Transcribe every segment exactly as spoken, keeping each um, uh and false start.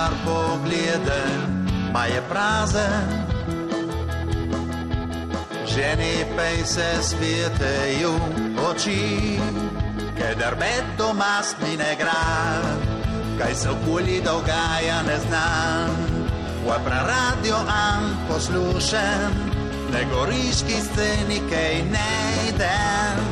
bar pogledam, ma je prazen. Ženi pej se svjeteju oči, kadar med doma spine grad, kaj se okoli dogaja ne znam. Vapra radio am poslušam, na goriški sceni kaj ne idem.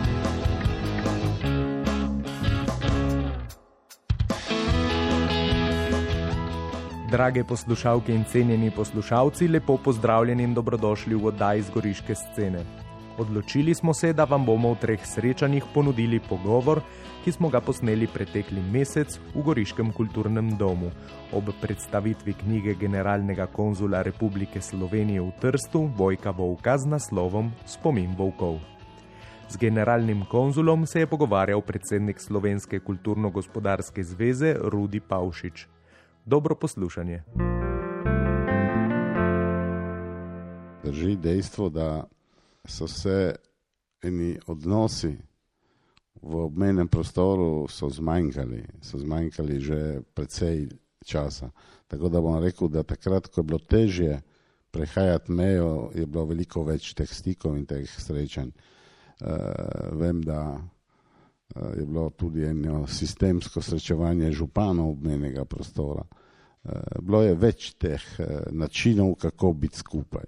Drage poslušalke in cenjeni poslušalci, lepo pozdravljeni in dobrodošli v oddaji z goriške scene. Odločili smo se, da vam bomo v treh srečanjih ponudili pogovor, ki smo ga posneli pretekli mesec v Goriškem kulturnem domu ob predstavitvi knjige generalnega konzula Republike Slovenije v Trstu Vojka Volka z naslovom Spomin volkov. Z generalnim konzulom se je pogovarjal predsednik Slovenske kulturno-gospodarske zveze Rudi Pavšič. Dobro poslušanje. Drži dejstvo, da so se eni odnosi v obmejnem prostoru so zmanjkali, so zmanjkali že precej časa. Tako da bom rekel, da takrat, ko je bilo težje prehajati mejo, je bilo veliko več teh stikov in teh srečanj. Uh, vem, da je bilo tudi eno sistemsko srečevanje županov obmejnega prostora. Bilo je več teh načinov, kako biti skupaj.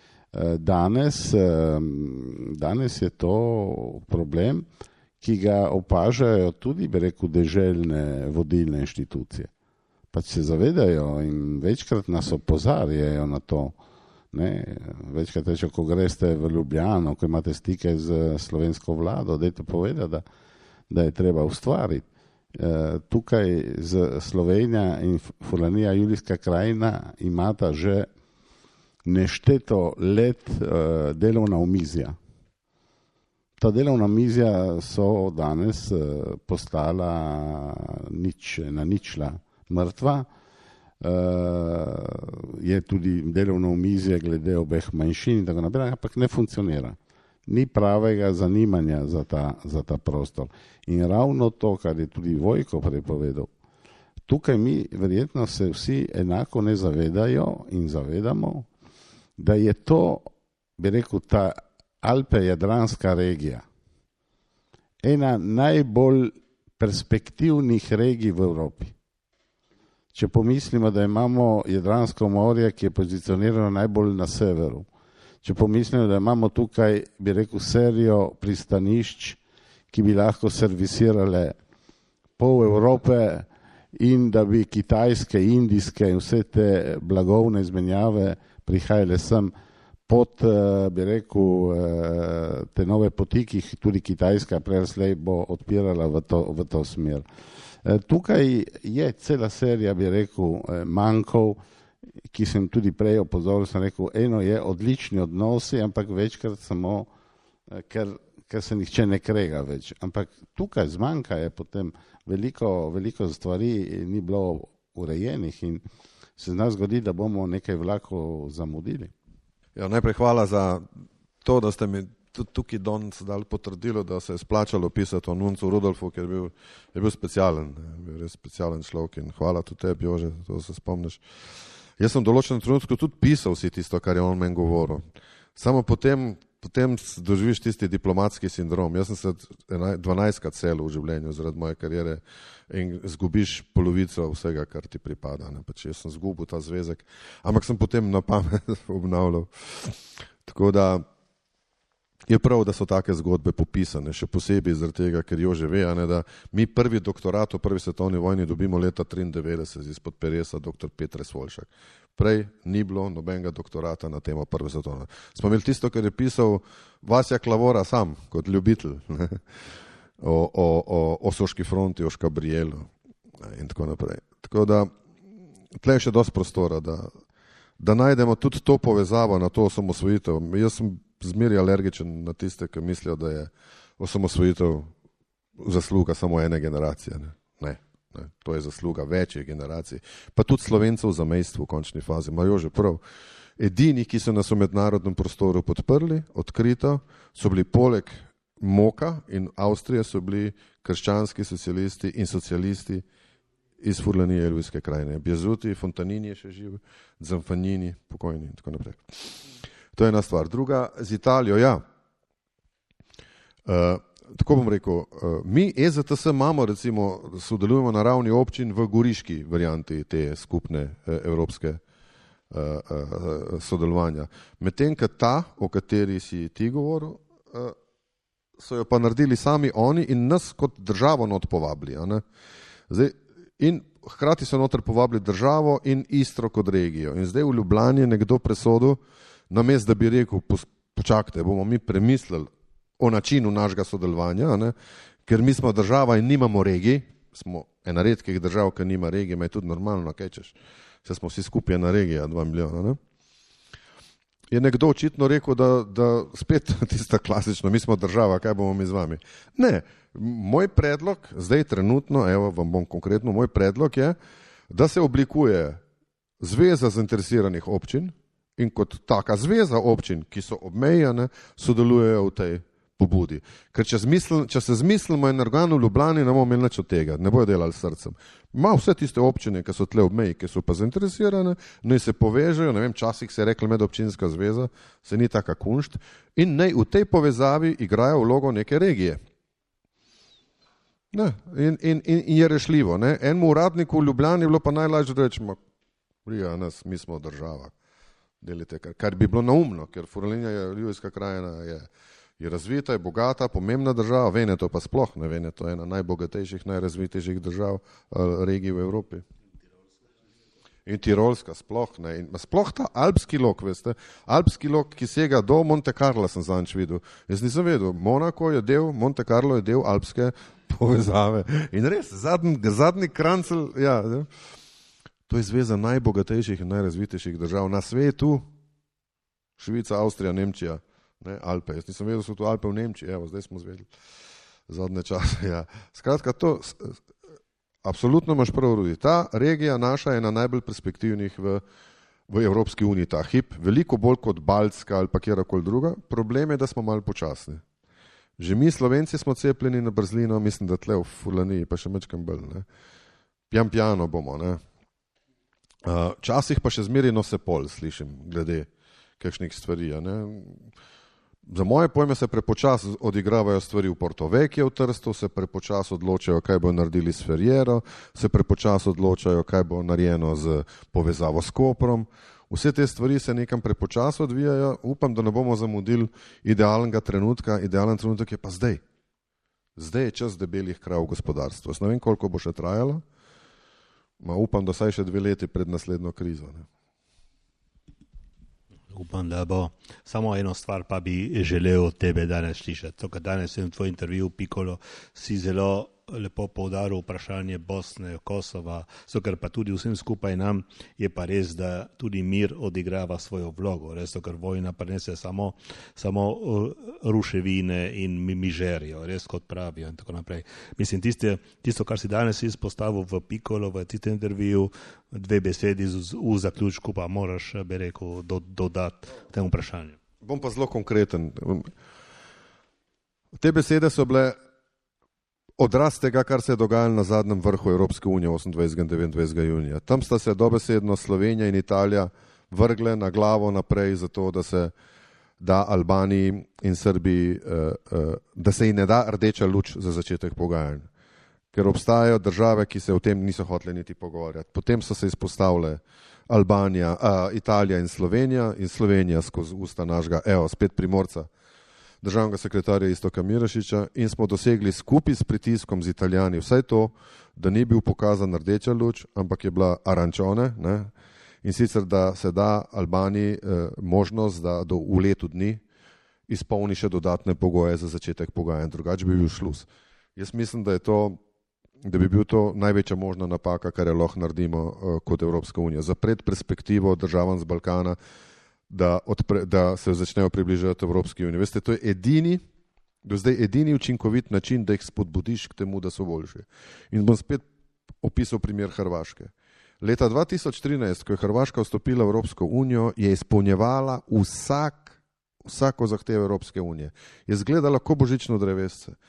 Danes, danes je to problem, ki ga opažajo tudi, bi rekel, deželne vodilne inštitucije. Pač se zavedajo in večkrat nas opozarjajo na to. Ne? Večkrat reče, ko greste v Ljubljano, ko imate stike z slovensko vlado, dajte povedati, da da je treba ustvariti. E, tukaj z Slovenija in Furlanija Julijska krajina imata že nešteto let e, delovna omizja. Ta delovna omizja so danes e, postala nič, na ničla mrtva. E, je tudi delovno omizje glede obeh manjšin in tako naprej, ampak ne funkcionira. Ni pravega zanimanja za ta, za ta prostor. In ravno to, kar je tudi Vojko prepovedal, tukaj mi verjetno se vsi enako ne zavedajo in zavedamo, da je to, bi rekel, ta Alpe-Jadranska regija ena najbolj perspektivnih regij v Evropi. Če pomislimo, da imamo Jadransko morje, ki je pozicionirano najbolj na severu, če pomislimo, da imamo tukaj, bi rekel, serijo pristanišč, ki bi lahko servisirale pol Evrope in da bi kitajske, indijske in vse te blagovne izmenjave prihajale sem pod, bi rekel, te nove poti, ki jih tudi Kitajska preslej bo odpirala v to, v to smer. Tukaj je cela serija, bi rekel, mankov, ki sem tudi prej opozoril, sem rekel, eno je odlični odnosi, ampak večkrat samo, ker, ker se nihče ne krega več. Ampak tukaj zmanjka je potem veliko, veliko stvari ni bilo urejenih in se zna zgodi, da bomo nekaj vlakov zamudili. Ja, najprej hvala za to, da ste mi tudi tukaj danes dali potrdilo, da se je splačalo pisati o Nuncu Rudolfu, ker je bil, je bil specialen, je bil res specialen človek in hvala tudi tebi, Jože, to se spomniš. Jaz sem v določenem trenutku tudi pisal si tisto, kar je on meni govoril. Samo potem, potem doživiš tisti diplomatski sindrom. Jaz sem se dvanajstkrat selil v življenju zaradi moje karijere in zgubiš polovico vsega, kar ti pripada. Ne? Pač jaz sem zgubil ta zvezek, ampak sem potem na pamet obnavljal. Tako da je prav, da so take zgodbe popisane, še posebej zaradi tega, ker Jože ve, ne, da mi prvi doktorat v prvi svetovni vojni dobimo leta triindevetdeset izpod peresa doktor Petre Svoljšak. Prej ni bilo nobenega doktorata na temo prve svetovne. Smo imeli tisto, kar je pisal Vasja Klavora sam, kot ljubitelj, ne, o, o, o, o Soški fronti, o Škabrielu in tako naprej. Tako da tle je še dosti prostora, da, da najdemo tudi to povezavo na to osamosvojitev. Jaz sem zmeri alergičen na tiste, ki mislijo, da je osamosvojitev zasluga samo ene generacije. Ne, ne, ne. To je zasluga večjih generacij. Pa tudi Slovencev v zamejstvu v končni fazi. Imajo že prav. Edini, ki so nas v mednarodnem prostoru podprli, odkrito, so bili poleg Moka in Avstrije, so bili krščanski socialisti in socialisti iz Furlanije, Ljubljske krajine. Bjezuti, Fontanini je še živ, Zamfanini, pokojni in tako naprej. To je ena stvar. Druga, z Italijo, ja. Uh, tako bom rekel, uh, mi E Z T S imamo, recimo, sodelujemo na ravni občin v goriški varianti te skupne uh, evropske uh, uh, sodelovanja. Medtem, ka ta, o kateri si ti govoril, uh, so jo pa naredili sami oni in nas kot državo not povabili. A ne? Zdaj, in hkrati so noter povabili državo in Istro kot regijo. In zdaj v Ljubljani je nekdo presodil, namesto da bi rekel, počakajte, bomo mi premislili o načinu našega sodelovanja, ne? Ker mi smo država in nimamo regij, smo ena redkih držav, ki nima regij, ima je tudi normalno, kaj češ, vse smo vsi skupaj ena regija, dva milijona. Ne? Je nekdo očitno rekel, da, da spet tista klasično, mi smo država, kaj bomo mi z vami. Ne, moj predlog, zdaj trenutno, evo vam bom konkretno, moj predlog je, da se oblikuje zveza zainteresiranih občin in kot taka zveza občin, ki so obmejane, sodelujejo v tej pobudi. Ker če, zmisl, če se zmislimo en organ v Ljubljani, ne bomo imeli nič od tega, ne bojo delali s srcem. Ima vse tiste občine, ki so tle ob meji, ki so pa zainteresirane, naj se povežejo, ne vem, časih se je rekla medobčinska zveza, se ni taka kunšt, in naj v tej povezavi igrajo vlogo neke regije. Ne, in, in, in, in je rešljivo. Ne. Enemu uradniku v Ljubljani je bilo pa najlažje reči, prija nas, mi smo država. Delite, kar, kar bi bilo naumno, ker Furlanija, Ljubljska krajina je je razvita, je bogata, pomembna država, Veneto pa sploh, ne, Veneto je ena najbogatejših, najrazvitejših držav, regij v Evropi. In Tirolska sploh, ne, in sploh ta alpski lok, veste, alpski lok, ki sega do Monte Carla, sem zanč videl. Jaz nisem vedel, Monako je del, Monte Carlo je del alpske povezave. In res, zadnji, zadnji krancel, ja, ne, to je zveza najbogatejših in najrazvitejših držav na svetu, Švica, Avstrija, Nemčija. Ne, Alpe. Jaz nisem vedel, so tu Alpe v Nemčiji, evo, zdaj smo zvedeli zadnje čase. Ja. Skratka, to, absolutno imaš prav, Rudi. Ta regija naša je ena najbolj perspektivnih v, v Evropski uniji, ta hip, veliko bolj kot Baltska ali pa kjerkoli druga. Problem je, da smo malo počasni. Že mi, Slovenci, smo cepljeni na brzlino, mislim, da tle v Furlaniji, pa še mečkam bolj. Ne. Pjan pjano bomo. Ne. Uh, časih pa še zmeri nose pol, slišim, glede kakšnih stvari. Ne. Za moje pojme se prepočas odigravajo stvari v Porto Vecchio v Trstu, se prepočas odločajo, kaj bo naredili s Ferriero, se prepočas odločajo, kaj bo narejeno z povezavo s Koprom. Vse te stvari se nekam prepočas odvijajo, upam, da ne bomo zamudili idealnega trenutka, idealen trenutek je pa zdaj. Zdaj je čas debelih krav v gospodarstvu. Ne vem, koliko bo še trajalo, ma upam, da saj še dve leti pred naslednjo krizo. Ne. Upam, da bo. Samo eno stvar pa bi želel od tebe danes slišati. To, kar danes sem v tvoj intervju Piccolo, si zelo lepo poudaril vprašanje Bosne, Kosova, so ker pa tudi vsem skupaj nam je pa res, da tudi mir odigrava svojo vlogo. Res, ker vojna prinese samo, samo ruševine in mižerijo, res kot pravijo in tako naprej. Mislim, tiste, tisto, kar si danes izpostavil v Piccolo, v tistem intervju, dve besedi z, v zaključku pa moraš, bi rekel, do, dodati temu vprašanju. Bom pa zelo konkreten. Te besede so bile odraz tega, kar se je dogajalo na zadnjem vrhu Evropske unije osemindvajsetega in devetindvajsetega junija. Tam sta se dobesedno Slovenija in Italija vrgle na glavo naprej za to, da se da Albaniji in Srbiji, da se ji ne da rdeča luč za začetek pogajanj. Ker obstajajo države, ki se o tem niso hotele niti pogovarjati. Potem so se izpostavile Albanija, Italija in Slovenija in Slovenija skozi usta našega, evo, spet Primorca, državnega sekretarja Iztoka Mirašiča in smo dosegli skupaj s pritiskom z Italijani vsaj to, da ni bil pokazan rdeča luč, ampak je bila arancione, ne? In sicer, da se da Albaniji eh, možnost, da do, v letu dni izpolni še dodatne pogoje za začetek pogajanj, drugače bi bil šluz. Jaz mislim, da je to, da bi bil to največja možna napaka, kar je lahko naredimo eh, kot Evropska unija. Zapreti perspektivo državam z Balkana, Da, odpre, da se začnejo približati Evropski uniji. Veste, to je edini, do zdaj edini učinkovit način, da jih spodbudiš k temu, da so boljši. In bom spet opisal primer Hrvaške. Leta dva tisoč trinajst, ko je Hrvaška vstopila v Evropsko unijo, je izpolnjevala vsak, vsako zahtevo Evropske unije. Je izgledala kot božično drevesce.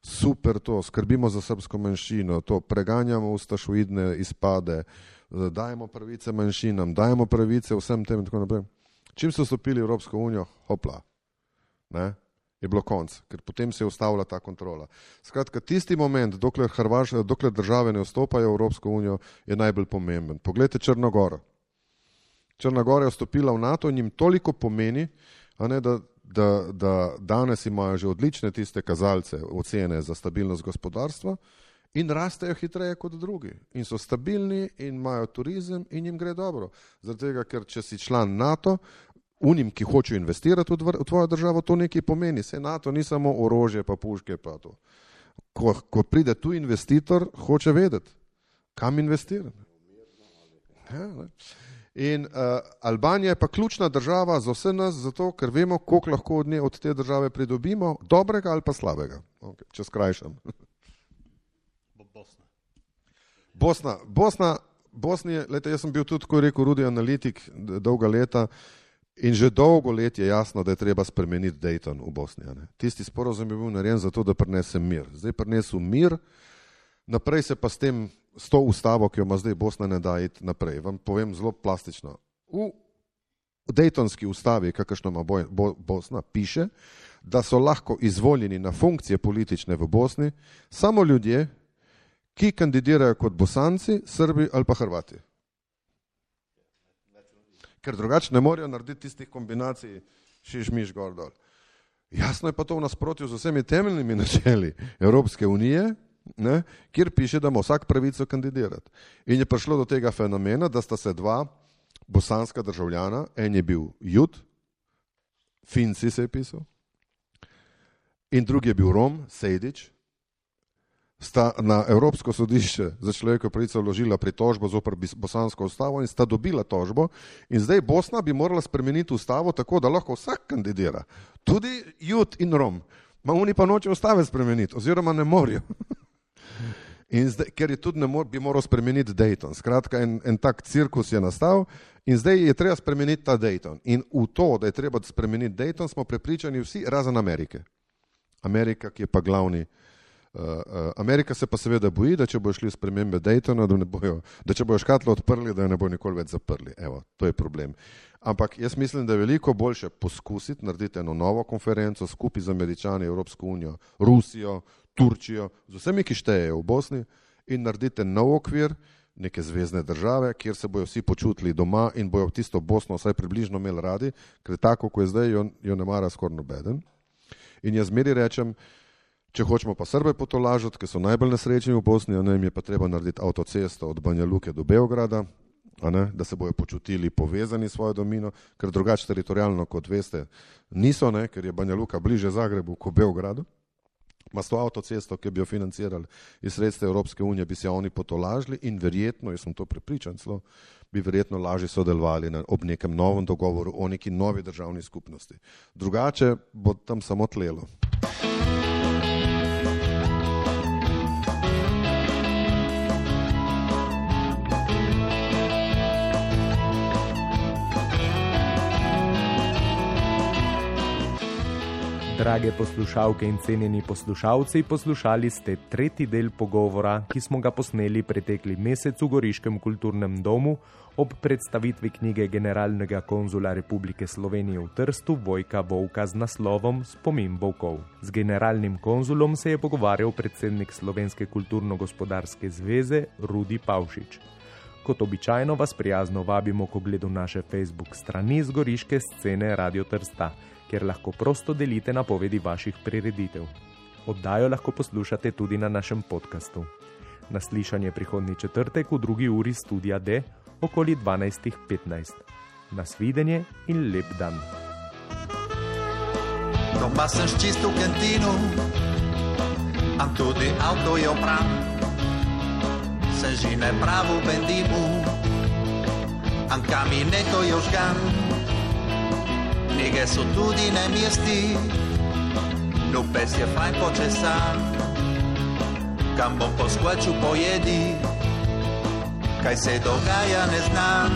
super to, skrbimo za srbsko manjšino, to preganjamo ustašoidne izpade, dajemo pravice manjšinam, dajemo pravice vsem tem in tako naprej. Čim so vstopili v Evropsko unijo, hopla, ne, je bilo konc, ker potem se je ustavila ta kontrola. Skratka, tisti moment, dokler, Hrvaš, dokler države ne vstopajo v Evropsko unijo, je najbolj pomemben. Poglejte Črno Goro. Črna Gora je vstopila v NATO in jim toliko pomeni, a ne, da, da, da danes imajo že odlične tiste kazalce, ocene za stabilnost gospodarstva in rastejo hitreje kot drugi. In so stabilni in imajo turizem in jim gre dobro. Zaradi tega, ker če si član NATO, unim, ki hočejo investirati v, dvr, v tvojo državo, to nekaj pomeni. Se NATO ni samo orožje pa puške pa to. Ko, ko pride tu investitor, hoče vedeti, kam investirati. Ja, ne. In uh, Albanija je pa ključna država za vse nas, zato ker vemo, koliko lahko od, nje, od te države pridobimo, dobrega ali pa slabega. Okay, če skrajšam. Bosna. Bosna. Bosna, Bosni, lejte, jaz sem bil tudi, ko je rekel Rudi, analitik dolga leta in že dolgo let je jasno, da je treba spremeniti Dayton v Bosni. Ne? Tisti sporozum je bil narejen zato, da prinese mir. Zdaj prinesel mir, naprej se pa s tem s to ustavo, ki jo ima zdaj Bosna, ne da iti naprej. Vam povem zelo plastično. V Daytonski ustavi, kakršno ima Bo, Bo, Bosna, piše, da so lahko izvoljeni na funkcije politične v Bosni samo ljudje, ki kandidirajo kot Bosanci, Srbi ali pa Hrvati. Ker drugače ne morejo narediti tistih kombinacij šiš, miš, gor, dol. Jasno je pa to v nasprotju z vsemi temeljnimi načeli Evropske unije, ne, kjer piše, da ima vsak pravico kandidirati. In je prišlo do tega fenomena, da sta se dva bosanska državljana, en je bil Jud, Finci se je pisal, in drugi je bil Rom, Sejdič, sta na Evropsko sodišče za človekove pravice vložila pritožbo zoper bosansko ustavo in sta dobila tožbo in zdaj Bosna bi morala spremeniti ustavo tako, da lahko vsak kandidira. Tudi Jud in Rom. Ma oni pa noče ustave spremeniti, oziroma ne morajo. In zdaj, ker je tudi ne mor, bi moral spremeniti Dayton. Skratka, en, en tak cirkus je nastal in zdaj je treba spremeniti ta Dayton. In v to, da je treba spremeniti Dayton, smo prepričani vsi, razen Amerike. Amerika, ki je pa glavni. Uh, uh, Amerika se pa seveda boji, da če bojo šli spremembe Daytona, da, ne bojo, da če bojo škatlo odprli, da jo ne bojo nikoli več zaprli. Evo, to je problem. Ampak jaz mislim, da je veliko boljše poskusiti narediti eno novo konferenco skupaj z Američani, Evropsko unijo, Rusijo, Turčijo, z vsemi, ki štejejo v Bosni in naredite nov okvir neke zvezne države, kjer se bojo vsi počutili doma in bojo tisto Bosno vsaj približno imeli radi, ker tako, ko je zdaj, jo, jo ne mara skoraj nobeden. In jaz zmeri rečem, če hočemo pa Srbe potolažiti, ki so najbolj nesrečni v Bosni, ne, jim je pa treba narediti avtocesto od Banja Luke do Beograda, a ne, da se bojo počutili povezani s svojo domino, ker drugače teritorijalno, kot veste, niso, ne, ker je Banja Luka bliže Zagrebu kot Beogradu. Ma s to avtocesto, ki bi jo financirali iz sredstev Evropske unije, bi se oni potolažili in verjetno, jaz sem to prepričan, celo, bi verjetno lažje sodelovali na, ob nekem novem dogovoru o neki novi državni skupnosti. Drugače bo tam samo tlelo. Drage poslušalke in cenjeni poslušalci, poslušali ste tretji del pogovora, ki smo ga posneli pretekli mesec v Goriškem kulturnem domu ob predstavitvi knjige generalnega konzula Republike Slovenije v Trstu Vojka Volka z naslovom Spomin volkov. Z generalnim konzulom se je pogovarjal predsednik Slovenske kulturno-gospodarske zveze Rudi Pavšič. Kot običajno vas prijazno vabimo k ogledu naše Facebook strani z goriške scene Radio Trsta, kjer lahko prosto delite napovedi vaših prireditev. Oddajo lahko poslušate tudi na našem podkastu. Naslišanje prihodnji četrtek v drugi uri Studia D okoli dvanajst petnajst. Nasvidenje in lep dan. Doma sem čistil kantino, a tudi avto je opran. Se žine pravo bendimu, a kamineto je užgan. Knjige so tudi na mesti, no pes je fajn počesan. Kam bom poskvačil pojedi, kaj se dogaja ne znam.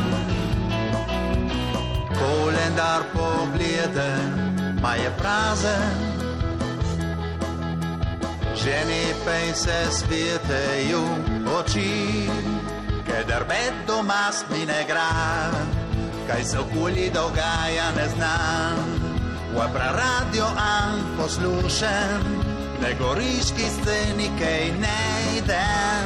Kolendar pogledam, ma je prazen, že Ženi pej se svjeteju oči, kadar med doma spine gra, kaj se okolji dogaja ne znam. Wapra radio an poslušam, na goriški sceni kaj ne idem.